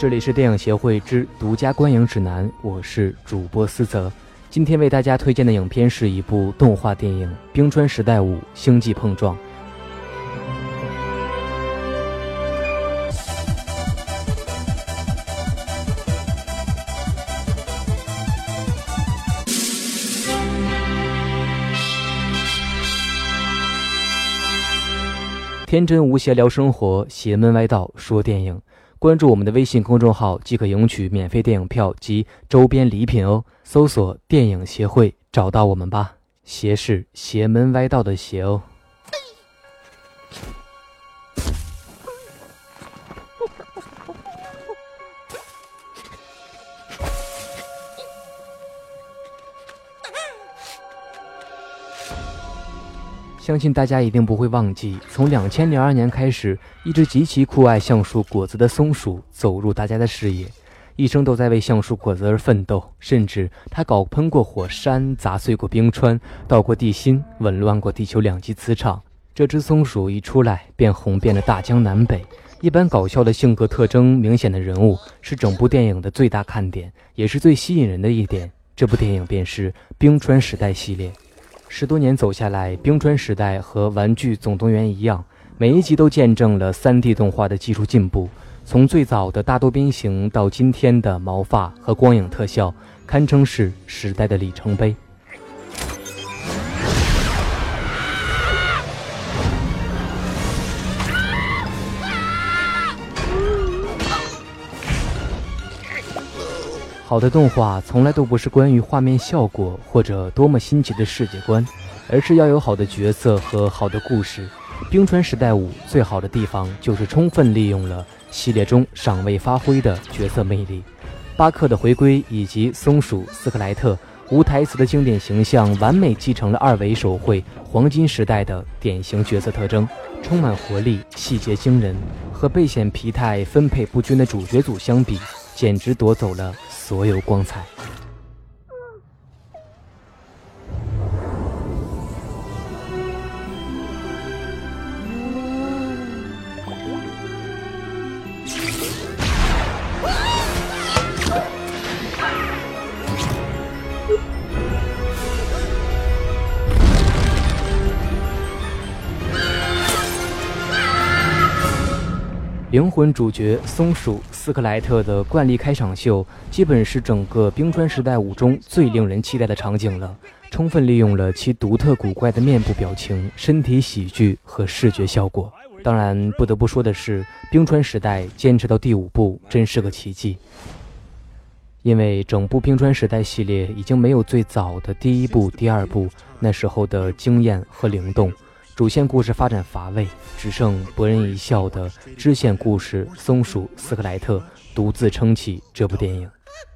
这里是电影协会之独家观影指南，我是主播思泽。今天为大家推荐的影片是一部动画电影《冰川时代5：星际碰撞》。天真无邪聊生活，邪门歪道说电影。关注我们的微信公众号即可赢取免费电影票及周边礼品哦。搜索电影协会找到我们吧。邪是邪门歪道的邪哦。相信大家一定不会忘记，从2002年开始，一只极其酷爱橡树果子的松鼠走入大家的视野，一生都在为橡树果子而奋斗，甚至它搞喷过火山，砸碎过冰川，倒过地心，紊乱过地球2级磁场。这只松鼠一出来便红遍了大江南北，一般搞笑的性格特征明显的人物是整部电影的最大看点，也是最吸引人的一点。这部电影便是冰川时代系列。10多年走下来，冰川时代和玩具总动员一样，每一集都见证了 3D 动画的技术进步，从最早的大多边形到今天的毛发和光影特效，堪称是时代的里程碑。好的动画从来都不是关于画面效果或者多么新奇的世界观，而是要有好的角色和好的故事。冰川时代5最好的地方就是充分利用了系列中尚未发挥的角色魅力。巴克的回归以及松鼠斯克莱特无台词的经典形象，完美继承了2维手绘黄金时代的典型角色特征，充满活力，细节惊人。和背显疲态分配不均的主角组相比，简直夺走了所有光彩。灵魂主角松鼠斯克莱特的惯例开场秀，基本是整个冰川时代5中最令人期待的场景了，充分利用了其独特古怪的面部表情、身体喜剧和视觉效果。当然不得不说的是，冰川时代坚持到第5部真是个奇迹，因为整部冰川时代系列已经没有最早的第1部、第2部那时候的惊艳和灵动，主线故事发展乏味，只剩博人一笑的支线故事松鼠斯克莱特独自撑起这部电影。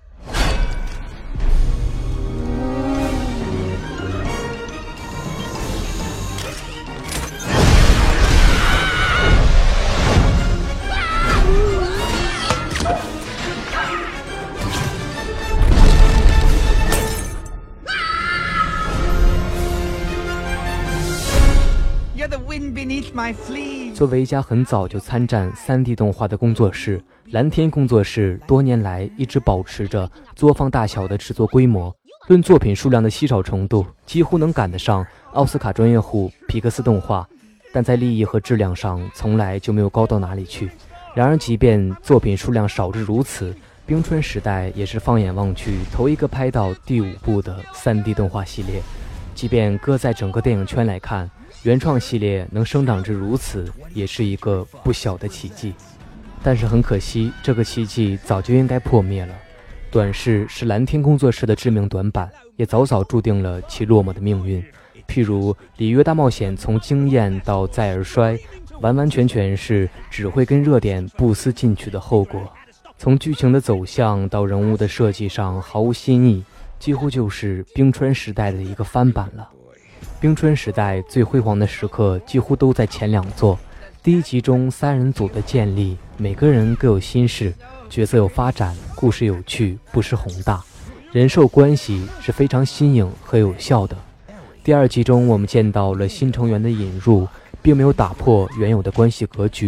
作为一家很早就参战 3D 动画的工作室，蓝天工作室多年来一直保持着作坊大小的制作规模，论作品数量的稀少程度，几乎能赶得上奥斯卡专业户皮克斯动画，但在利益和质量上从来就没有高到哪里去。然而即便作品数量少至如此，冰川时代也是放眼望去头一个拍到第5部的 3D 动画系列。即便搁在整个电影圈来看，原创系列能生长至如此，也是一个不小的奇迹。但是很可惜，这个奇迹早就应该破灭了。短视是蓝天工作室的致命短板，也早早注定了其落寞的命运。譬如《里约大冒险》从惊艳到再而衰，完完全全是只会跟热点不思进取的后果。从剧情的走向到人物的设计上毫无新意，几乎就是冰川时代的一个翻版了。冰川时代最辉煌的时刻几乎都在前2作。第1集中3人组的建立，每个人各有心事，角色有发展，故事有趣，不失宏大，人兽关系是非常新颖和有效的。第2集中我们见到了新成员的引入，并没有打破原有的关系格局，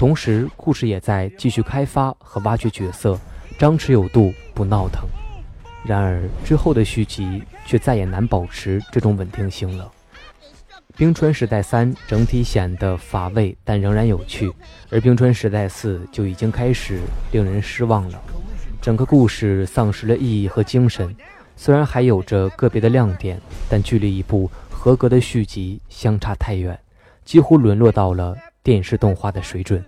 同时故事也在继续开发和挖掘角色，张弛有度，不闹腾。然而之后的续集却再也难保持这种稳定性了。冰川时代3整体显得乏味，但仍然有趣，而冰川时代4就已经开始令人失望了。整个故事丧失了意义和精神，虽然还有着个别的亮点，但距离一部合格的续集相差太远，几乎沦落到了电视动画的水准。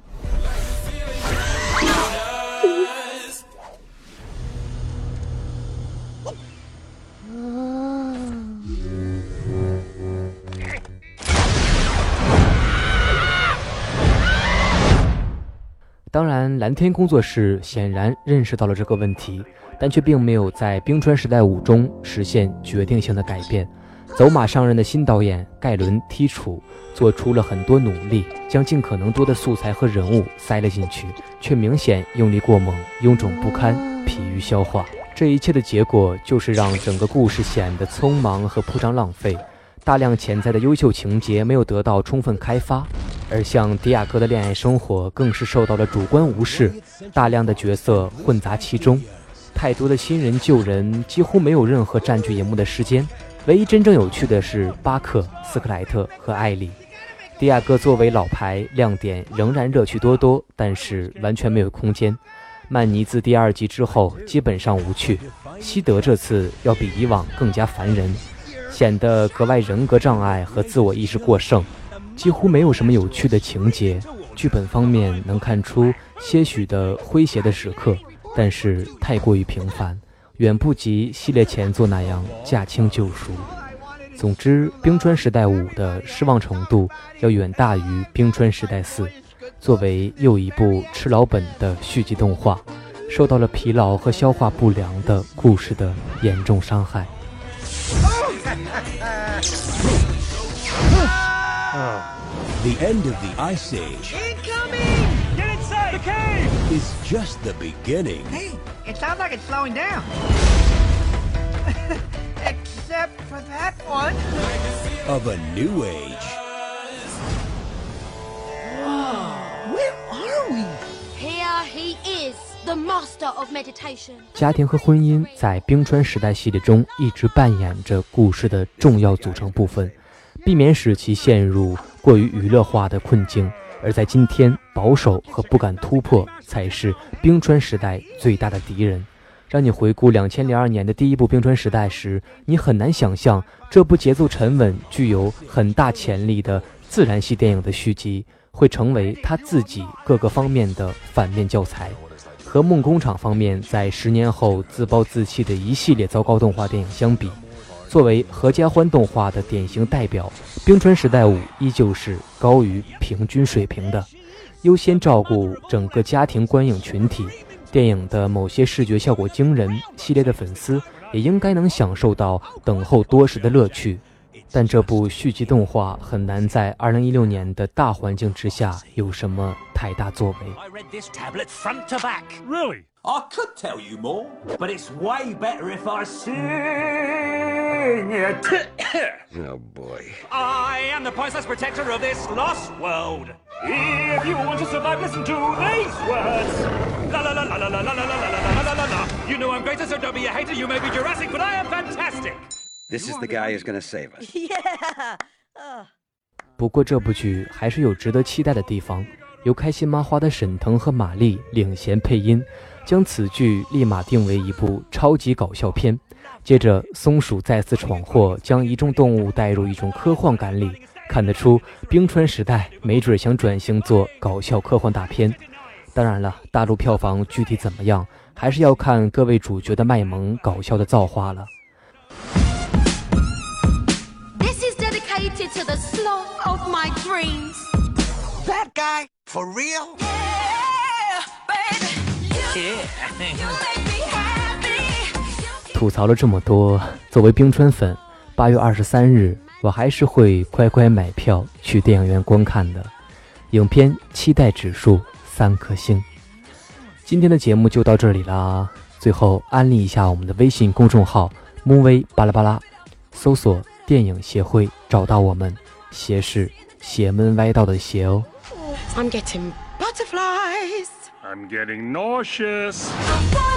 当然，蓝天工作室显然认识到了这个问题，但却并没有在《冰川时代5》中实现决定性的改变。走马上任的新导演盖伦·剔楚做出了很多努力，将尽可能多的素材和人物塞了进去，却明显用力过猛，臃肿不堪，疲于消化。这一切的结果就是让整个故事显得匆忙和铺张浪费，大量潜在的优秀情节没有得到充分开发。而像迪亚哥的恋爱生活更是受到了主观无视，大量的角色混杂其中，太多的新人旧人几乎没有任何占据荧幕的时间。唯一真正有趣的是巴克、斯克莱特和艾莉。迪亚哥作为老牌亮点仍然热趣多多，但是完全没有空间。曼尼自第2集之后基本上无趣，西德这次要比以往更加烦人，显得格外人格障碍和自我意识过剩，几乎没有什么有趣的情节。剧本方面能看出些许的诙谐的时刻，但是太过于平凡，远不及系列前作那样驾轻就熟。总之，冰川时代5的失望程度要远大于冰川时代4。作为又一部吃老本的续集动画，受到了疲劳和消化不良的故事的严重伤害。 The end of the Ice Age Incoming! Get inside the cave! is just the beginning Hey, it sounds like it's slowing down. Except for that one. of a new age. Where are we? Here he is, the master of meditation. 家庭和婚姻在冰川时代系列中一直扮演着故事的重要组成部分，避免使其陷入过于娱乐化的困境。而在今天，保守和不敢突破才是冰川时代最大的敌人。让你回顾2002年的第一部冰川时代时，你很难想象这部节奏沉稳、具有很大潜力的自然系电影的续集会成为他自己各个方面的反面教材。和梦工厂方面在10年后自暴自弃的一系列糟糕动画电影相比，作为合家欢动画的典型代表，冰川时代5依旧是高于平均水平的，优先照顾整个家庭观影群体。电影的某些视觉效果惊人，系列的粉丝也应该能享受到等候多时的乐趣。但这部续集动画很难在2016年的大环境之下有什么太大作为。 I read this tablet front to back. Really? I could tell you more, but it's way better if I sing it. Oh boy. I am the priceless protector of this lost world. If you want to survive, listen to these words. La la la la la la la la la la la la la la. You know I'm greater, so don't be a hater. You may be Jurassic, but I am fantastic. This is the guy who's gonna save us. Yeah. 不过这部剧还是有值得期待的地方，由开心麻花的沈腾和马丽领衔配音，将此剧立马定为一部超级搞笑片。接着松鼠再次闯祸，将一众动物带入一种科幻感里，看得出冰川时代没准想转型做搞笑科幻大片。当然了，大陆票房具体怎么样，还是要看各位主角的卖萌搞笑的造化了。 This is dedicated to the sloth of my dreams. That guy? For real? Yeah, baby. You make me happy. 吐槽了这么多，作为冰川粉，8月23日我还是会乖乖买票去电影院观看的。影片期待指数3颗星。今天的节目就到这里啦，最后安利一下我们的微信公众号 movie 巴拉巴拉，搜索电影协会找到我们，邪是邪门歪道的邪哦。 I'm getting Butterflies. I'm getting nauseous. Why